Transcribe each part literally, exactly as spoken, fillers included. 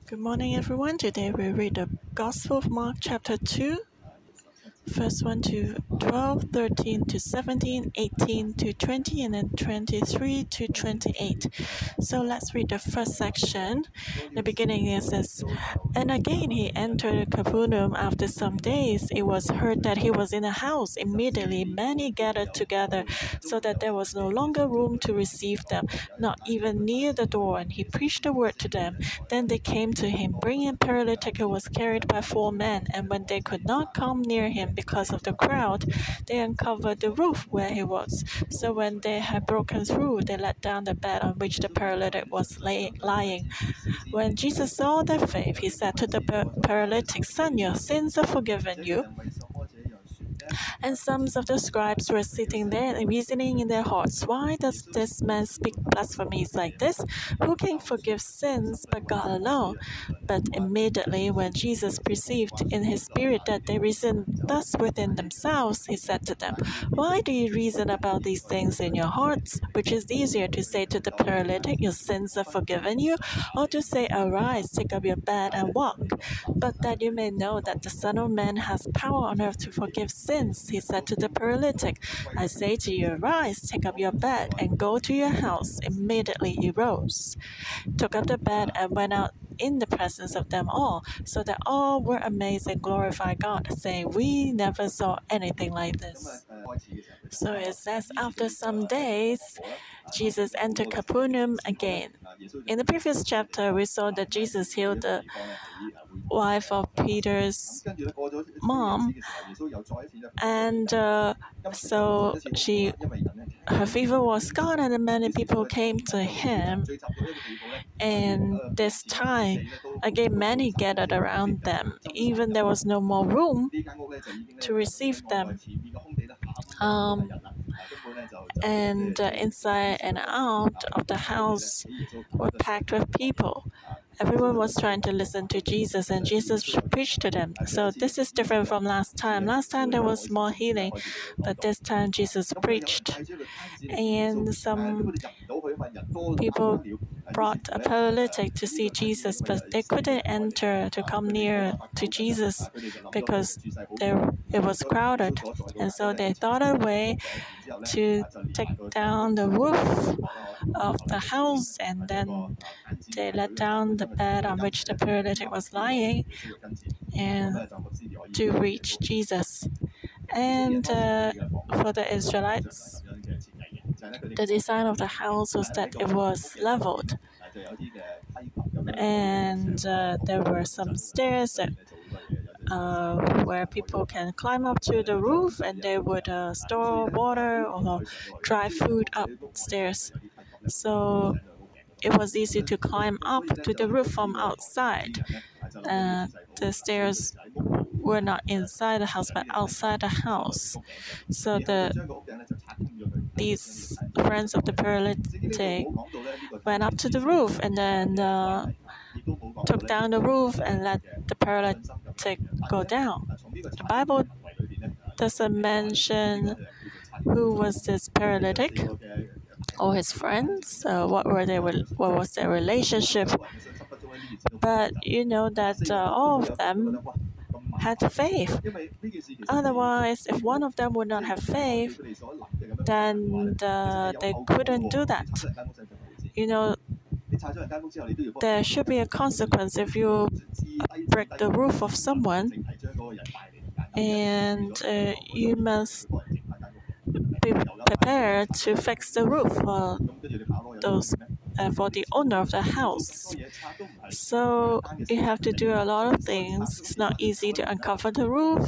Good morning, everyone. Today we read the Gospel of Mark, chapter two, verse one to twelve, thirteen to seventeen, eighteen to twenty, and then twenty-three to twenty-eight. So let's read the first section. The beginning it says, "And again he entered Capernaum after some days. It was heard that he was in a house. Immediately many gathered together, so that there was no longer room to receive them, not even near the door, and he preached the word to them. Then they came to him, bringing a paralytic who was carried by four men, and when they could not come near him because of the crowd, they uncovered the roof where he was. So when they had broken through, they let down the bed on which the paralytic was lay- lying. When Jesus saw their faith, he said to the paralytic, 'Son, your sins are forgiven you.' And some of the scribes were sitting there and reasoning in their hearts, 'Why does this man speak blasphemies like this? Who can forgive sins but God alone?' But immediately when Jesus perceived in his spirit that they reasoned thus within themselves, he said to them, 'Why do you reason about these things in your hearts? Which is easier, to say to the paralytic, Your sins are forgiven you, or to say, Arise, take up your bed and walk? But that you may know that the Son of Man has power on earth to forgive sins,' he said to the paralytic, 'I say to you, Arise, take up your bed, and go to your house.' Immediately he rose, took up the bed, and went out in the presence of them all, so that all were amazed and glorified God, saying, 'We never saw anything like this.'" So it says, after some days, Jesus entered Capernaum again. In the previous chapter, we saw that Jesus healed the wife of Peter's mom, and uh, so she, her fever was gone, and many people came to him. And this time, again, many gathered around them. Even there was no more room to receive them. Um, and uh, inside and out of the house were packed with people. Everyone was trying to listen to Jesus, and Jesus preached to them. So this is different from last time. Last time there was more healing, but this time Jesus preached. And some people brought a paralytic to see Jesus, but they couldn't enter to come near to Jesus because there, it was crowded. And so they thought a way to take down the roof of the house, and then they let down the bed on which the paralytic was lying and to reach Jesus. And uh, for the Israelites, the design of the house was that it was leveled, and uh, there were some stairs that uh, where people can climb up to the roof, and they would uh, store water or dry food upstairs. So it was easy to climb up to the roof from outside. Uh, the stairs were not inside the house, but outside the house. So the these friends of the paralytic went up to the roof, and then uh, took down the roof and let the paralytic go down. The Bible doesn't mention who was this paralytic or his friends, uh, what were they, what was their relationship, but you know that uh, all of them had faith. Otherwise, if one of them would not have faith, then uh, they couldn't do that. You know, there should be a consequence if you break the roof of someone, and uh, you must be prepared to fix the roof for those uh, for the owner of the house. So you have to do a lot of things. It's not easy to uncover the roof.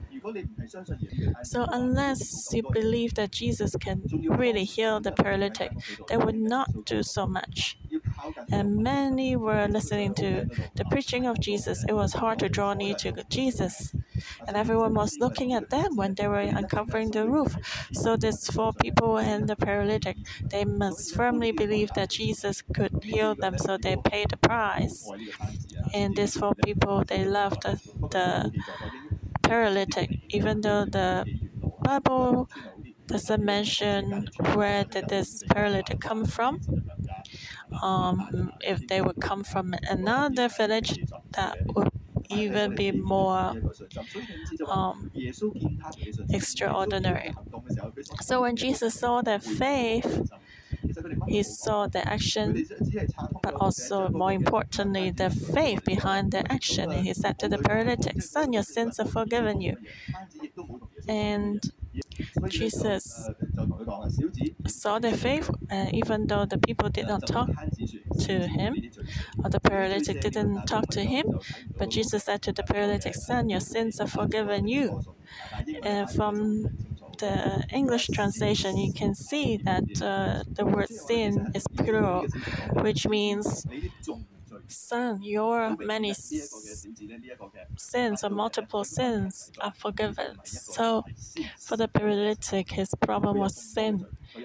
So unless you believe that Jesus can really heal the paralytic, they would not do so much. And many were listening to the preaching of Jesus. It was hard to draw near to Jesus. And everyone was looking at them when they were uncovering the roof. So these four people and the paralytic, they must firmly believe that Jesus could heal them, so they paid the price. And these four people, they loved the, the paralytic, even though the Bible doesn't mention where did this paralytic come from. um, if they would come from another village, that would even be more um, extraordinary. So when Jesus saw their faith, he saw the action, but also, more importantly, the faith behind the action. And he said to the paralytic, "Son, your sins are forgiven you." And Jesus saw their faith, uh, even though the people did not talk to him, or the paralytic didn't talk to him. But Jesus said to the paralytic, "Son, your sins are forgiven you." And from the English translation, you can see that uh, the word sin is plural, which means, "Son, your many sins or multiple sins are forgiven." So for the paralytic, his problem was sin.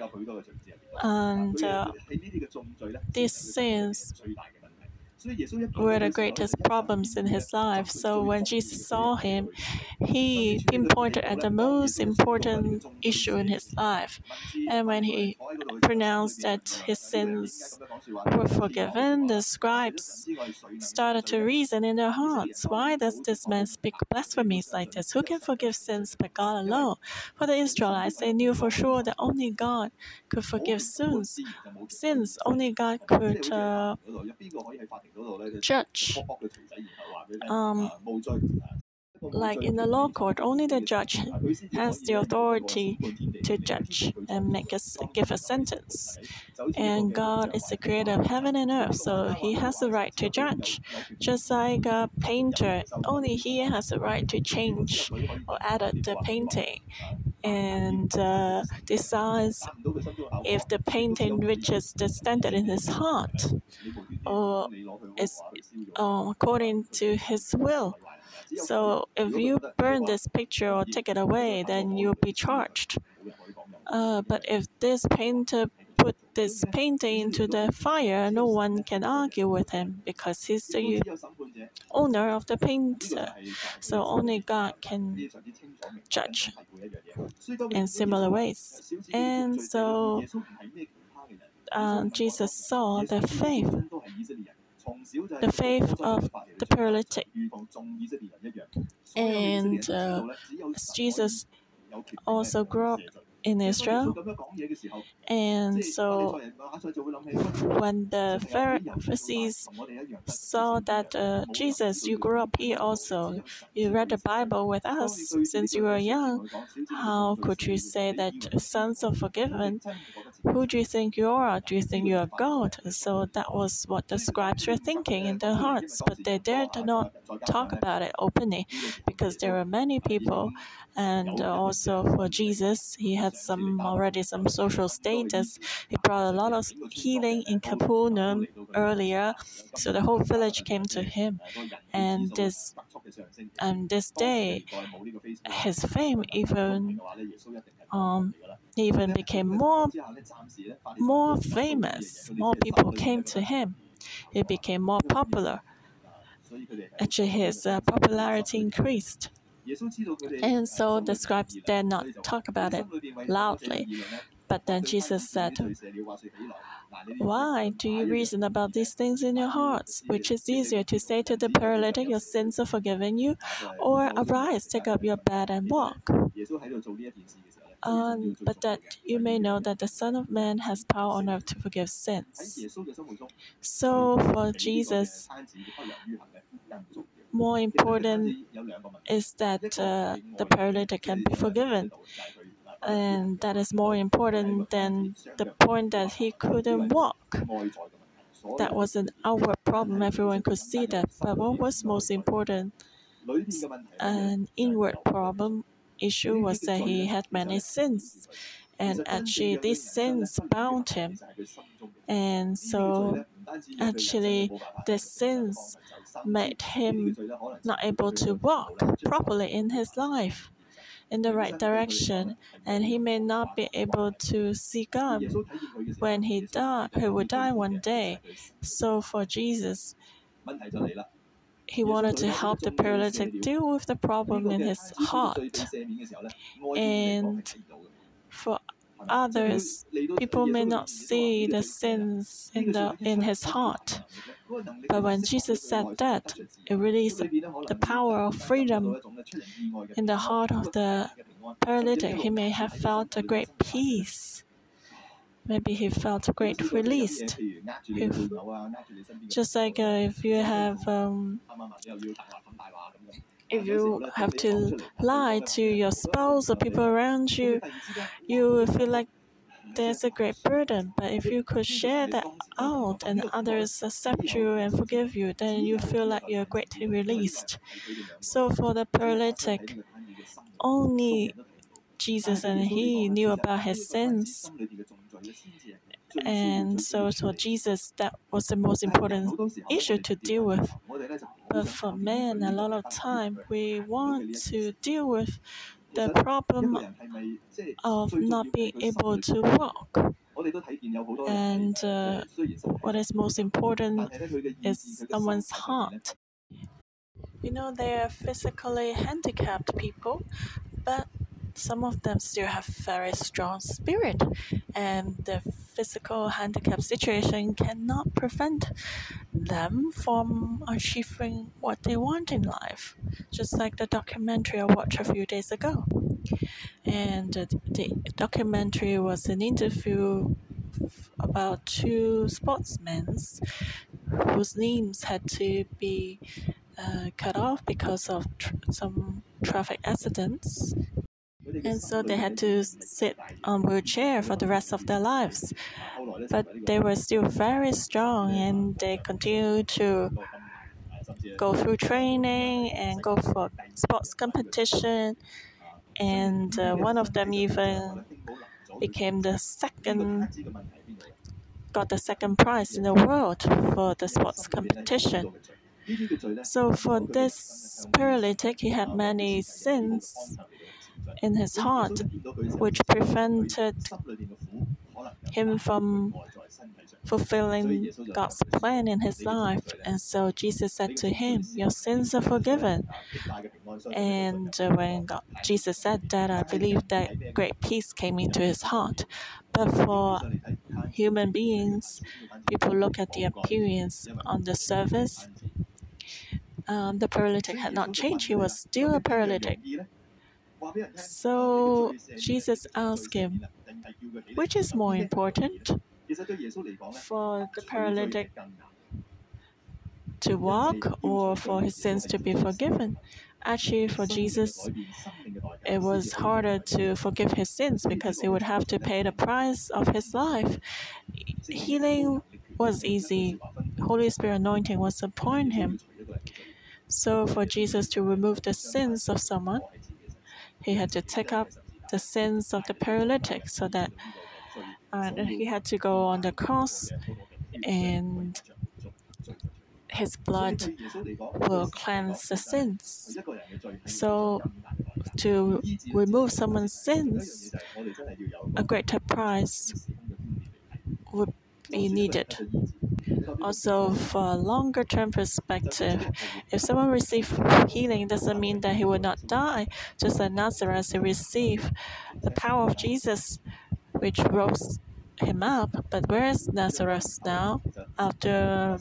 And uh, these sins were the greatest problems in his life. So when Jesus saw him, he pinpointed at the most important issue in his life. And when he pronounced that his sins were forgiven, the scribes started to reason in their hearts, "Why does this man speak blasphemies like this? Who can forgive sins but God alone?" For the Israelites, they knew for sure that only God could forgive sins. Sins, only God could uh, judge. Um, like in the law court, only the judge has the authority to judge and make us give a sentence. And God is the creator of heaven and earth, so he has the right to judge. Just like a painter, only he has the right to change or edit the painting and uh, decides if the painting reaches the standard in his heart or is uh, according to his will. So if you burn this picture or take it away, then you'll be charged. Uh, but if this painter put this painting into the fire, no one can argue with him because he's the owner of the painter. So only God can judge in similar ways. And so uh, Jesus saw the faith, the faith of the paralytic. And uh, Jesus also grew up in Israel. And so when the Pharisees saw that uh, Jesus, you grew up here also, you read the Bible with us since you were young, how could you say that sins are forgiven? Who do you think you are? Do you think you are God? So that was what the scribes were thinking in their hearts, but they dared not talk about it openly because there were many people. And also for Jesus, he had some already some social status. He brought a lot of healing in Capernaum earlier, so the whole village came to him. And this, and this day, his fame even um, even became more more famous. More people came to him. He became more popular. Actually, his uh, popularity increased. And so the scribes dared not talk about it loudly. But then Jesus said, "Why do you reason about these things in your hearts? Which is easier, to say to the paralytic, 'Your sins are forgiven you,' or 'Arise, take up your bed and walk'? Um, but that you may know that the Son of Man has power on earth to forgive sins." So for Jesus, more important is that uh, the paralytic can be forgiven. And that is more important than the point that he couldn't walk. That was an outward problem, everyone could see that. But what was most important, an inward problem issue, was that he had many sins. And actually, these sins bound him. And so, actually, the sins made him not able to walk properly in his life in the right direction, and he may not be able to see God when he die. He will die one day. So for Jesus, he wanted to help the paralytic deal with the problem in his heart. And for others, people may not see the sins in, the, in his heart. But when Jesus said that, it released the power of freedom in the heart of the paralytic. He may have felt a great peace. Maybe he felt a great release. If, just like uh, if you have um, if you have to lie to your spouse or people around you, you will feel like there's a great burden. But if you could share that out and others accept you and forgive you, then you feel like you're greatly released. So for the paralytic, only Jesus and he knew about his sins. And so for Jesus, that was the most important issue to deal with. But for men, a lot of time, we want to deal with the problem of not being able to walk. And uh, what is most important is someone's heart. You know, they are physically handicapped people, but some of them still have very strong spirit, and the physical handicap situation cannot prevent them from achieving what they want in life. Just like the documentary I watched a few days ago. And uh, the documentary was an interview about two sportsmen whose limbs had to be uh, cut off because of tr- some traffic accidents. And so they had to sit on wheelchair for the rest of their lives. But they were still very strong, and they continued to go through training and go for sports competition. And uh, one of them even became the second, got the second prize in the world for the sports competition. So for this paralytic, he had many sins in his heart, which prevented him from fulfilling God's plan in his life. And so Jesus said to him, "Your sins are forgiven." And uh, when God, Jesus said that, I believe that great peace came into his heart. But for human beings, people look at the appearance on the surface. Um, the paralytic had not changed. He was still a paralytic. So Jesus asked him, which is more important, for the paralytic to walk or for his sins to be forgiven? Actually, for Jesus, it was harder to forgive his sins because he would have to pay the price of his life. Healing was easy. Holy Spirit anointing was upon him. So for Jesus to remove the sins of someone, he had to take up the sins of the paralytic, so that uh, he had to go on the cross, and his blood will cleanse the sins. So to remove someone's sins, a greater price would be needed. Also, for a longer term perspective, if someone receives healing, doesn't mean that he will not die. Just like Lazarus, he received the power of Jesus, which rose him up. But where is Lazarus now? After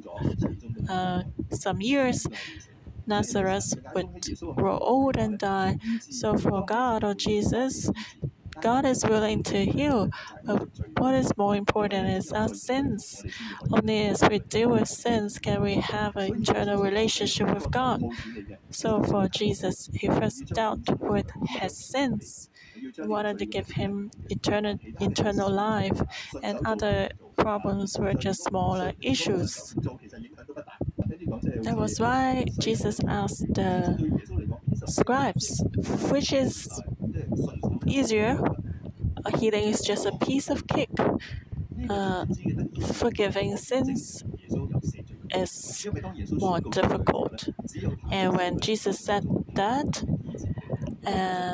uh, some years, Lazarus would grow old and die. So for God or Jesus, God is willing to heal, but what is more important is our sins. Only as we deal with sins can we have an internal relationship with God. So for Jesus, he first dealt with his sins. He wanted to give him eternal, eternal life, and other problems were just smaller issues. That was why Jesus asked the scribes, which is easier? A healing is just a piece of cake. Uh, forgiving sins is more difficult. And when Jesus said that, uh,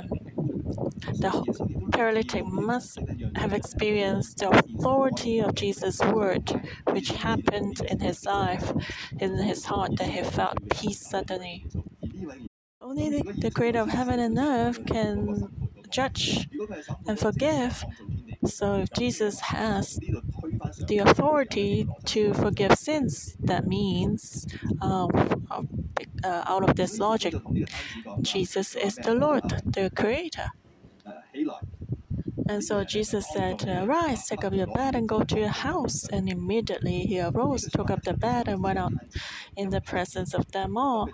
the paralytic must have experienced the authority of Jesus' word, which happened in his life, in his heart, that he felt peace suddenly. Only the, the Creator of heaven and earth can judge and forgive. So if Jesus has the authority to forgive sins, that means uh, uh, out of this logic, Jesus is the Lord, the Creator. And so Jesus said, "Arise, take up your bed and go to your house." And immediately he arose, took up the bed, and went out in the presence of them all.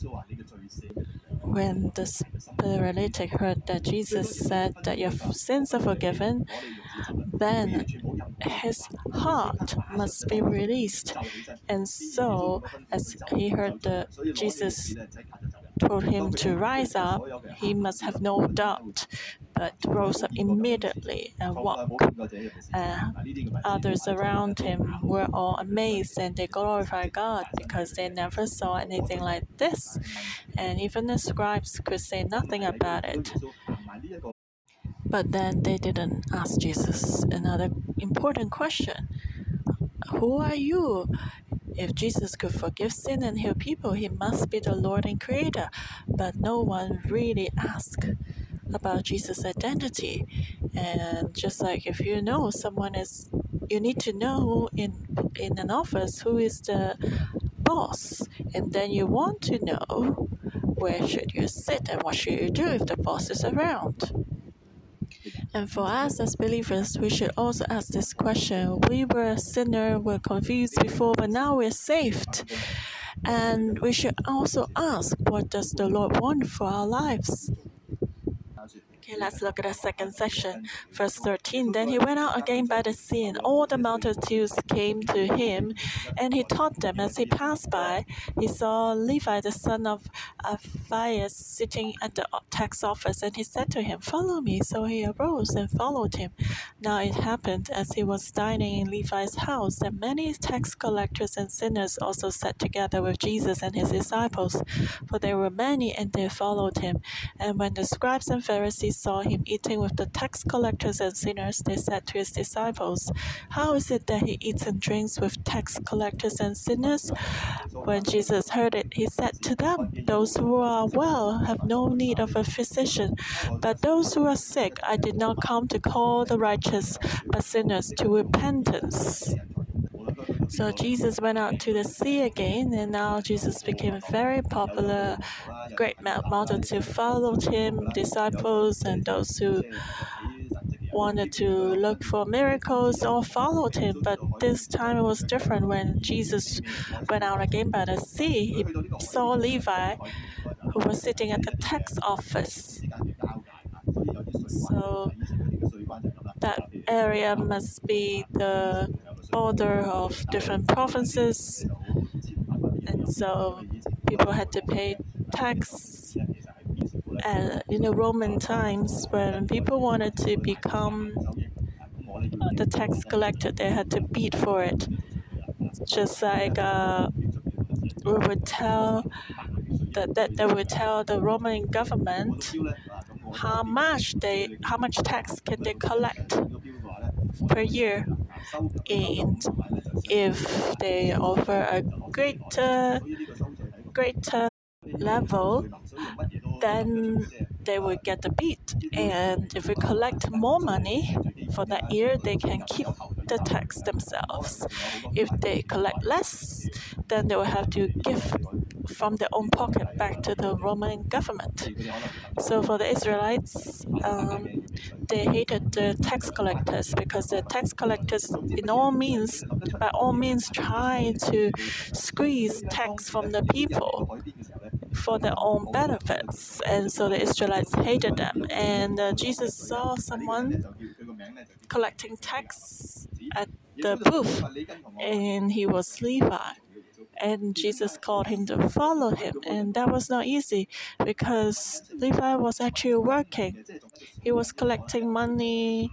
When the paralytic heard that Jesus said that your sins are forgiven, then his heart must be released. And so, as he heard that Jesus told him to rise up, he must have no doubt, but rose up immediately and walked. Uh, others around him were all amazed and they glorified God because they never saw anything like this. And even the scribes could say nothing about it. But then they didn't ask Jesus another important question. Who are you? If Jesus could forgive sin and heal people, he must be the Lord and Creator. But no one really asked about Jesus' identity. And just like if you know someone is, you need to know in in an office who is the boss, and then you want to know where should you sit and what should you do if the boss is around. And for us as believers, we should also ask this question. We were a sinner, were confused before, but now we're saved. And we should also ask, what does the Lord want for our lives? Okay, let's look at the second section, verse thirteen. Then he went out again by the sea, and all the multitudes came to him, and he taught them. As he passed by, he saw Levi, the son of Alphaeus, sitting at the tax office, and he said to him, "Follow me." So he arose and followed him. Now it happened, as he was dining in Levi's house, that many tax collectors and sinners also sat together with Jesus and his disciples, for there were many, and they followed him. And when the scribes and Pharisees saw him eating with the tax collectors and sinners, they said to his disciples, "How is it that he eats and drinks with tax collectors and sinners?" When Jesus heard it, he said to them, "Those who are well have no need of a physician, but those who are sick. I did not come to call the righteous, but sinners to repentance." So Jesus went out to the sea again, and now Jesus became very popular. Great multitude followed him, disciples and those who wanted to look for miracles all followed him. But this time it was different. When Jesus went out again by the sea, he saw Levi, who was sitting at the tax office. So that area must be the border of different provinces, and so people had to pay tax. And in the Roman times, when people wanted to become the tax collector, they had to bid for it. Just like uh, we would tell that, that they would tell the Roman government how much they how much tax can they collect per year, and if they offer a greater greater level, then they will get the beat. And if we collect more money for that year, they can keep the tax themselves. If they collect less, then they will have to give from their own pocket back to the Roman government. So for the Israelites, um, they hated the tax collectors because the tax collectors, in all means, by all means, try to squeeze tax from the people for their own benefits. And so the Israelites hated them. And uh, Jesus saw someone collecting tax at the booth, and he was Levi. And Jesus called him to follow him. And that was not easy because Levi was actually working. He was collecting money.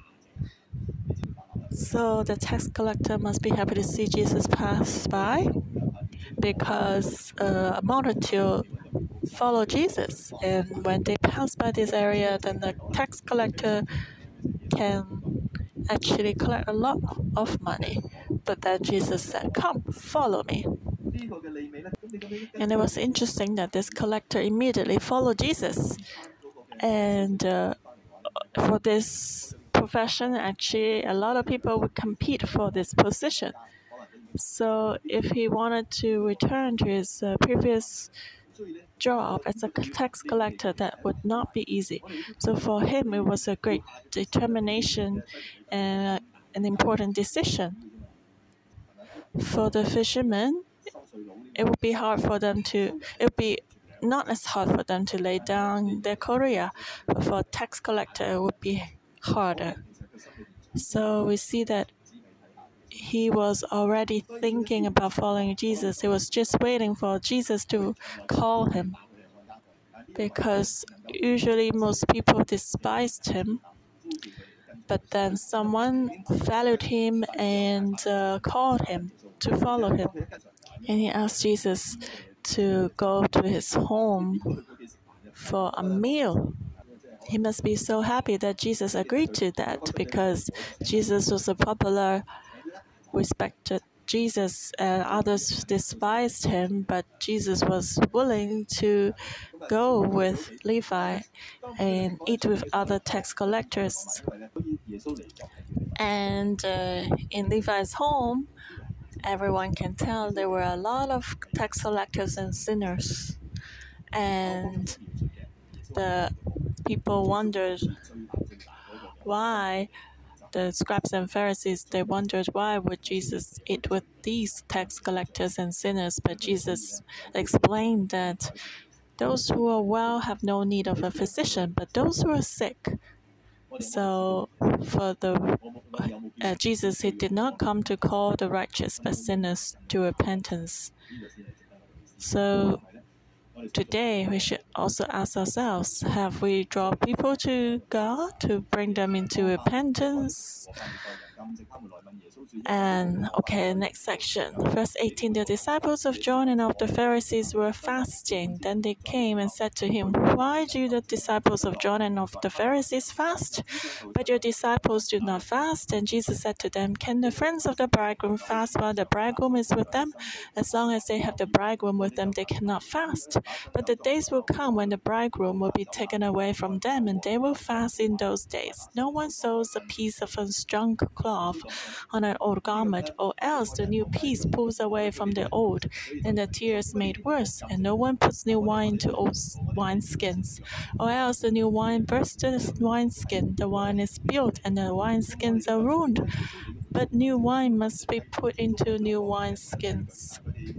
So the tax collector must be happy to see Jesus pass by, because uh, a multitude follow Jesus. And when they pass by this area, then the tax collector can actually collect a lot of money. But then Jesus said, "Come, follow me." And it was interesting that this collector immediately followed Jesus. And uh, for this profession. Actually, a lot of people would compete for this position. So if he wanted to return to his uh, previous job as a tax collector, that would not be easy. So for him, it was a great determination and uh, an important decision. For the fishermen, it would be hard for them to, it would be not as hard for them to lay down their career, but for a tax collector, it would be harder. So we see that he was already thinking about following Jesus. He was just waiting for Jesus to call him, because usually most people despised him, but then someone valued him and uh, called him to follow him. And he asked Jesus to go to his home for a meal. He must be so happy that Jesus agreed to that, because Jesus was a popular, respected Jesus, and others despised him, but Jesus was willing to go with Levi and eat with other tax collectors. And uh, in Levi's home, everyone can tell there were a lot of tax collectors and sinners. And the people wondered why the scribes and Pharisees, they wondered why would Jesus eat with these tax collectors and sinners, but Jesus explained that those who are well have no need of a physician, but those who are sick. So for the uh, Jesus, he did not come to call the righteous, but sinners to repentance. So today, we should also ask ourselves, have we drawn people to God to bring them into repentance? And, okay, next section. Verse eighteen, the disciples of John and of the Pharisees were fasting. Then they came and said to him, why do the disciples of John and of the Pharisees fast, but your disciples do not fast? And Jesus said to them, can the friends of the bridegroom fast while the bridegroom is with them? As long as they have the bridegroom with them, they cannot fast. But the days will come when the bridegroom will be taken away from them, and they will fast in those days. No one sews a piece of unstrung cloth on an old garment, or else the new piece pulls away from the old, and the tear is made worse. And no one puts new wine into old wineskins, or else the new wine bursts the wineskin. The wine is spilled, and the wineskins are ruined. But new wine must be put into new wineskins.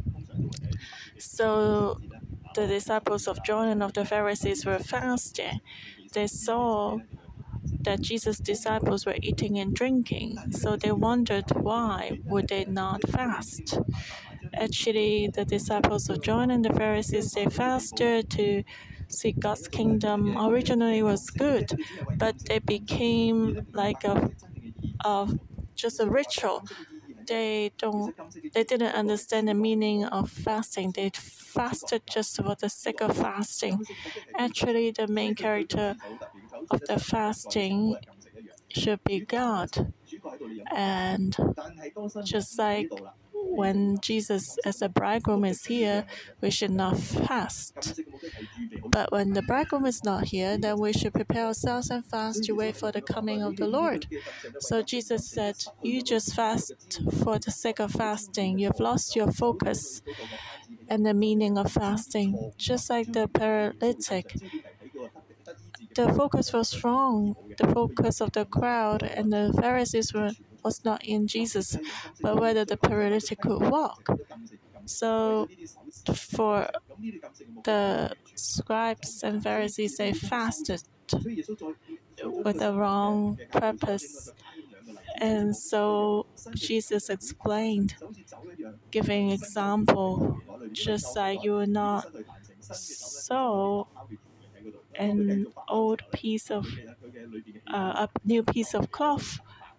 So the disciples of John and of the Pharisees were fasting. They saw that Jesus' disciples were eating and drinking, so they wondered why would they not fast. Actually, the disciples of John and the Pharisees, they fasted to seek God's kingdom. Originally was good, but they became like a, a just a ritual. They don't. They didn't understand the meaning of fasting. They fasted just for the sake of fasting. Actually, the main character of the fasting should be God. And just like when Jesus as a bridegroom is here, we should not fast. But when the bridegroom is not here, then we should prepare ourselves and fast to wait for the coming of the Lord. So Jesus said, you just fast for the sake of fasting. You've lost your focus and the meaning of fasting. Just like the paralytic, the focus was wrong. The focus of the crowd and the Pharisees were, was not in Jesus, but whether the paralytic could walk. So for the scribes and Pharisees, they fasted with the wrong purpose. And so Jesus explained, giving example, just like you will not sew an old piece of uh, a new piece of cloth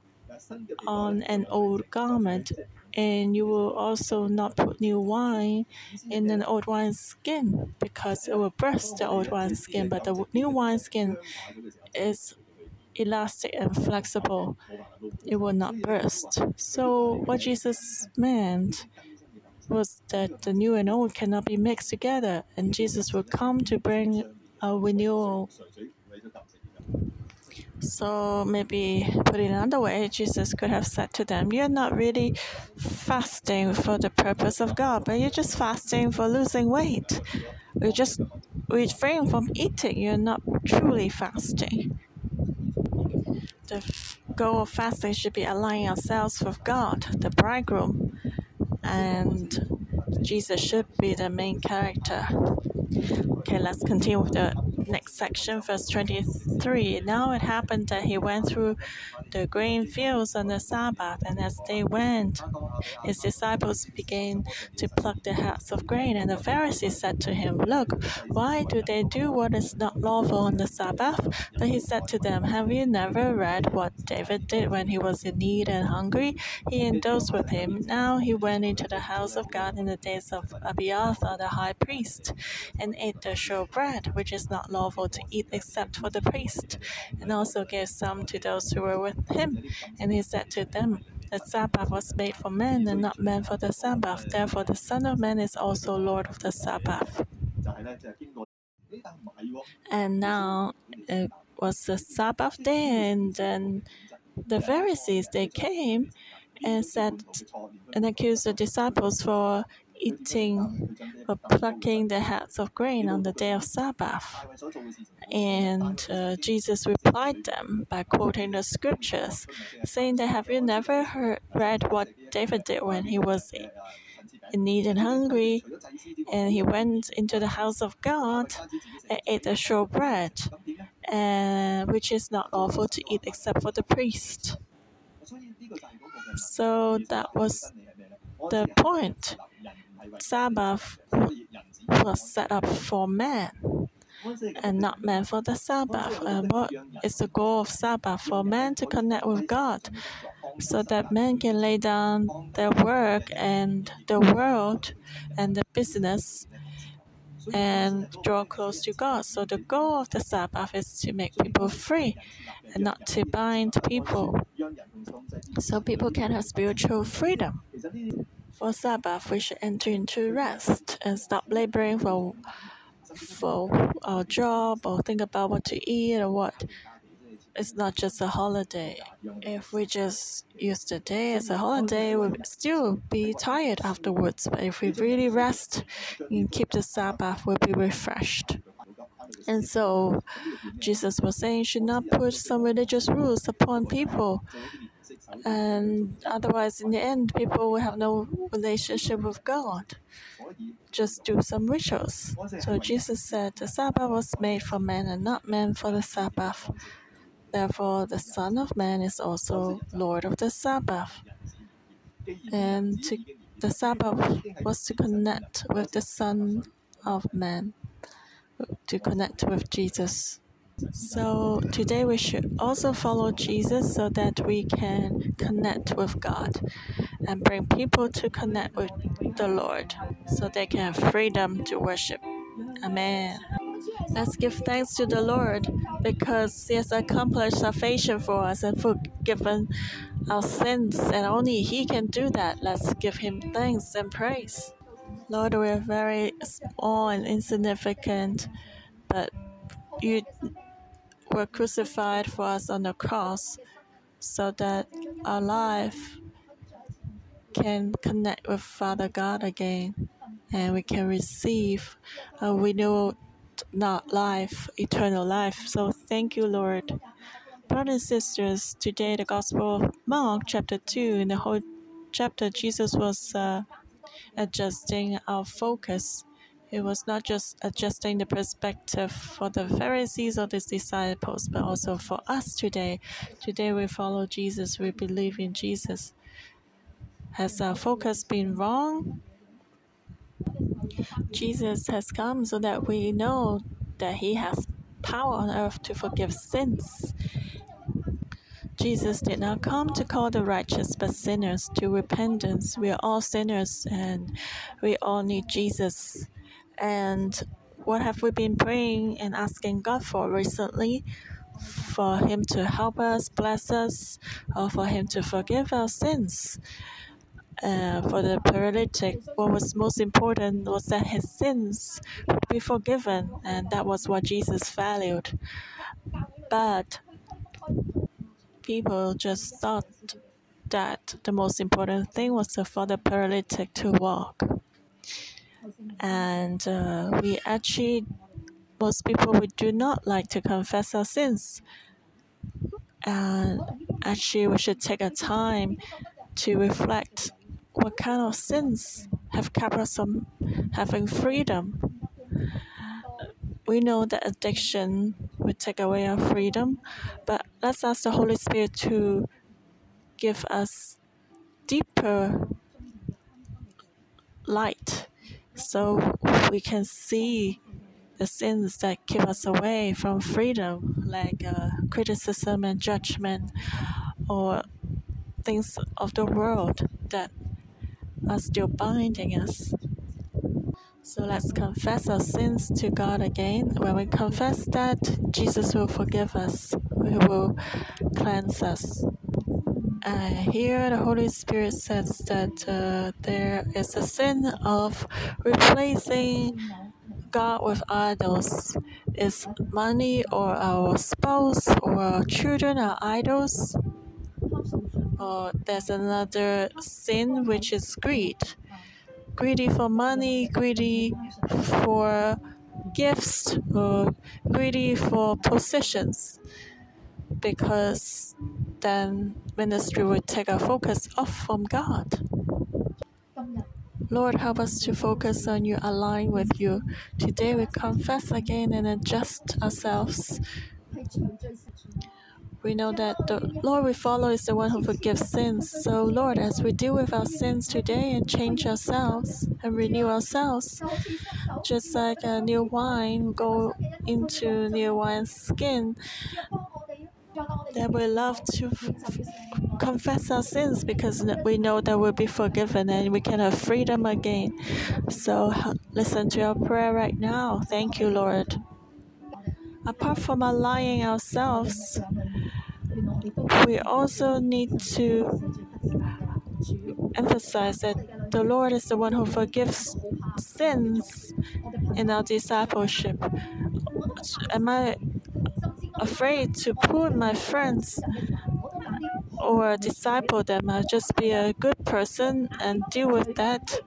on an old garment, and you will also not put new wine in an old wine skin, because it will burst the old wine skin. But the new wine skin is elastic and flexible. It will not burst. So what Jesus meant was that the new and old cannot be mixed together, and Jesus will come to bring a renewal. So maybe put it another way, Jesus could have said to them, you're not really fasting for the purpose of God, but you're just fasting for losing weight. You just refrain from eating. You're not truly fasting. The goal of fasting should be aligning ourselves with God, the bridegroom, and Jesus should be the main character. Okay, let's continue with the next section, verse twenty-three. Now it happened that he went through the grain fields on the Sabbath, and as they went, his disciples began to pluck the heads of grain. And the Pharisees said to him, look, why do they do what is not lawful on the Sabbath? But he said to them, have you never read what David did when he was in need and hungry? He indulged with him. Now he went into the house of God in the days of Abiathar the high priest, and ate the showbread, which is not lawful to eat except for the priest, and also gave some to those who were with him. And he said to them, the Sabbath was made for men, and not men for the Sabbath. Therefore the Son of Man is also Lord of the Sabbath. And now it was the Sabbath day, and then the Pharisees, they came and said and accused the disciples for eating or plucking the heads of grain on the day of Sabbath. And uh, Jesus replied them by quoting the scriptures, saying that, have you never heard, read what David did when he was in need and hungry, and he went into the house of God and ate the showbread, uh, which is not lawful to eat except for the priest. So that was the point. Sabbath was set up for man and not man for the Sabbath. And what is the goal of Sabbath? For man to connect with God, so that man can lay down their work and the world and the business and draw close to God. So the goal of the Sabbath is to make people free and not to bind people, so people can have spiritual freedom. For Sabbath, we should enter into rest and stop laboring for for our job or think about what to eat or what. It's not just a holiday. If we just use the day as a holiday, we'll still be tired afterwards. But if we really rest and keep the Sabbath, we'll be refreshed. And so Jesus was saying, you should not put some religious rules upon people. And otherwise, in the end, people will have no relationship with God. Just do some rituals. So Jesus said, the Sabbath was made for man and not man for the Sabbath. Therefore, the Son of Man is also Lord of the Sabbath. And to, the Sabbath was to connect with the Son of Man, to connect with Jesus. So today we should also follow Jesus so that we can connect with God and bring people to connect with the Lord so they can have freedom to worship. Amen. Let's give thanks to the Lord because He has accomplished salvation for us and forgiven our sins, and only He can do that. Let's give Him thanks and praise. Lord, we are very small and insignificant, but You were crucified for us on the cross so that our life can connect with Father God again, and we can receive a renewed not life, eternal life. So thank you, Lord. Brothers and sisters, today the Gospel of Mark, chapter two, in the whole chapter, Jesus was uh, adjusting our focus. It was not just adjusting the perspective for the Pharisees or the disciples, but also for us today. Today we follow Jesus, we believe in Jesus. Has our focus been wrong? Jesus has come so that we know that He has power on earth to forgive sins. Jesus did not come to call the righteous, but sinners to repentance. We are all sinners and we all need Jesus. And what have we been praying and asking God for recently? For Him to help us, bless us, or for Him to forgive our sins. Uh, for the paralytic, what was most important was that his sins would be forgiven, and that was what Jesus valued. But people just thought that the most important thing was for the paralytic to walk. And uh, we actually, most people, we do not like to confess our sins. And actually, we should take a time to reflect what kind of sins have kept us from having freedom. We know that addiction would take away our freedom, but let's ask the Holy Spirit to give us deeper light so we can see the sins that keep us away from freedom, like uh, criticism and judgment, or things of the world that are still binding us. So let's confess our sins to God again. When we confess that, Jesus will forgive us. He will cleanse us. Uh, here, the Holy Spirit says that uh, there is a sin of replacing God with idols. Is money or our spouse or our children our idols? Or there's another sin which is greed. Greedy for money, greedy for gifts, or greedy for positions, because then ministry will take our focus off from God. Lord, help us to focus on you, align with you. Today we confess again and adjust ourselves. We know that the Lord we follow is the one who forgives sins. So, Lord, as we deal with our sins today and change ourselves and renew ourselves, just like a new wine go into new wine skin, that we love to f- confess our sins because we know that we'll be forgiven and we can have freedom again. So, listen to our prayer right now. Thank you, Lord. Apart from aligning ourselves, we also need to emphasize that the Lord is the one who forgives sins in our discipleship. Am I afraid to pull my friends or disciple them? I'll just be a good person and deal with that.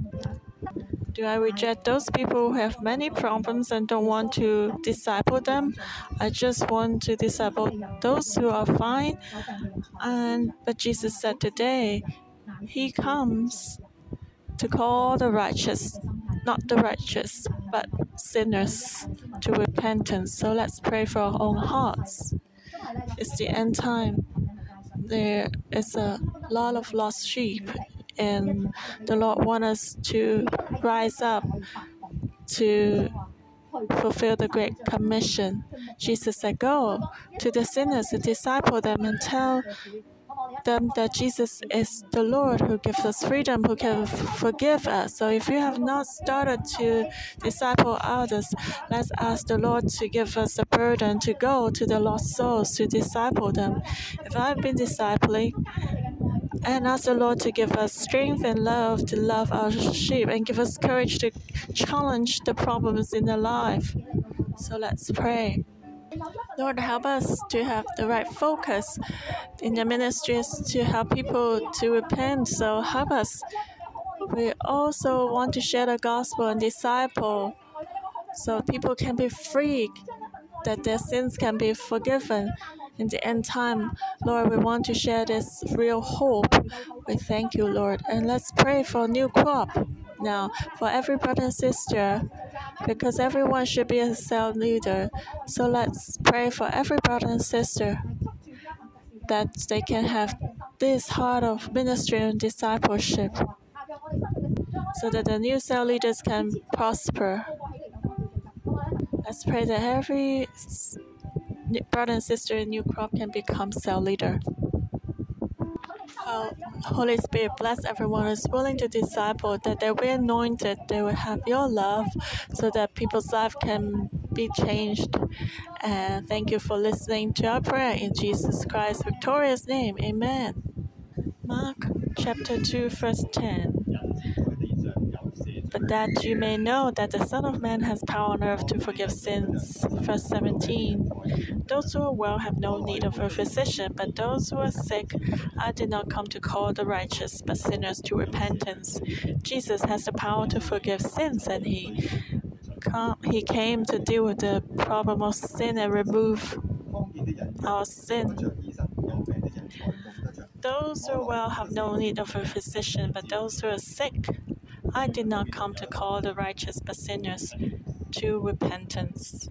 Do I reject those people who have many problems and don't want to disciple them? I just want to disciple those who are fine. And but Jesus said today, He comes to call the righteous, not the righteous, but sinners to repentance. So let's pray for our own hearts. It's the end time. There is a lot of lost sheep, and the Lord wants us to rise up to fulfill the Great Commission. Jesus said, go to the sinners and disciple them and tell them that Jesus is the Lord who gives us freedom, who can f- forgive us. So if you have not started to disciple others, let's ask the Lord to give us a burden to go to the lost souls to disciple them. If I've been discipling, and ask the Lord to give us strength and love to love our sheep and give us courage to challenge the problems in their life. So let's pray. Lord, help us to have the right focus in the ministries to help people to repent. So help us. We also want to share the gospel and disciple so people can be free, that their sins can be forgiven. In the end time, Lord, we want to share this real hope. We thank you, Lord. And let's pray for a new crop now for every brother and sister, because everyone should be a cell leader. So let's pray for every brother and sister that they can have this heart of ministry and discipleship so that the new cell leaders can prosper. Let's pray that every brother and sister in New Crop can become cell leader. Oh, Holy Spirit, bless everyone who is willing to disciple, that they will be anointed, they will have your love, so that people's life can be changed. And thank you for listening to our prayer in Jesus Christ's victorious name. Amen. Mark chapter two, verse ten. but that you may know that the Son of Man has power on earth to forgive sins. Verse seventeen. Those who are well have no need of a physician, but those who are sick. I did not come to call the righteous, but sinners to repentance. Jesus has the power to forgive sins, and he, come, he came to deal with the problem of sin and remove our sin. Those who are well have no need of a physician, but those who are sick. I did not come to call the righteous, but sinners to repentance.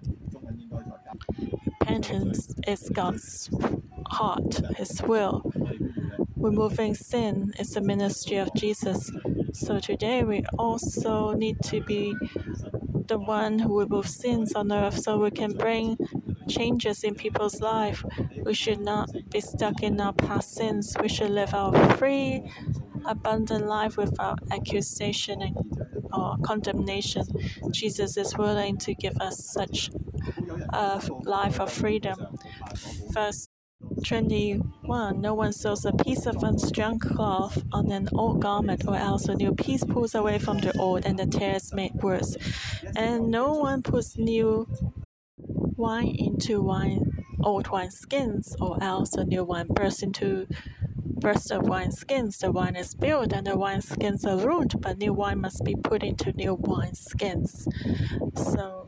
Repentance is God's heart, His will. Removing sin is the ministry of Jesus. So today we also need to be the one who removes sins on earth so we can bring changes in people's life. We should not be stuck in our past sins. We should live our free, abundant life without accusation and or condemnation. Jesus is willing to give us such a life of freedom. Verse twenty-one. No one sews a piece of unstrung cloth on an old garment, or else a new piece pulls away from the old, and the tear is made worse. And no one puts new wine into wine old wineskins, or else a new wine bursts into bursts the wineskins. The wine is spilled, and the wineskins are ruined, but new wine must be put into new wineskins. So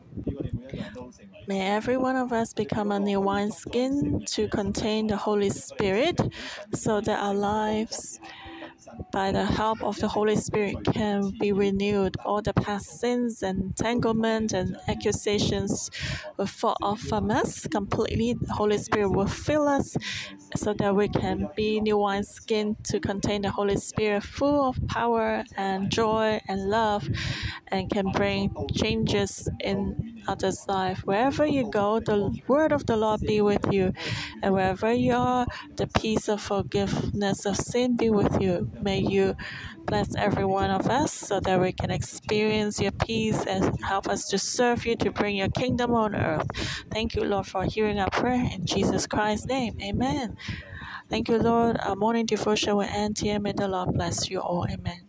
may every one of us become a new wineskin to contain the Holy Spirit, so that our lives, by the help of the Holy Spirit, can be renewed. All the past sins and entanglement and accusations will fall off from us completely. The Holy Spirit will fill us so that we can be new wineskin to contain the Holy Spirit, full of power and joy and love, and can bring changes in others' life. Wherever you go, the word of the Lord be with you. And wherever you are, the peace of forgiveness of sin be with you. May you bless every one of us so that we can experience your peace and help us to serve you, to bring your kingdom on earth. Thank you, Lord, for hearing our prayer. In Jesus Christ's name, amen. Thank you, Lord. Our morning devotion will end here. May the Lord bless you all. Amen.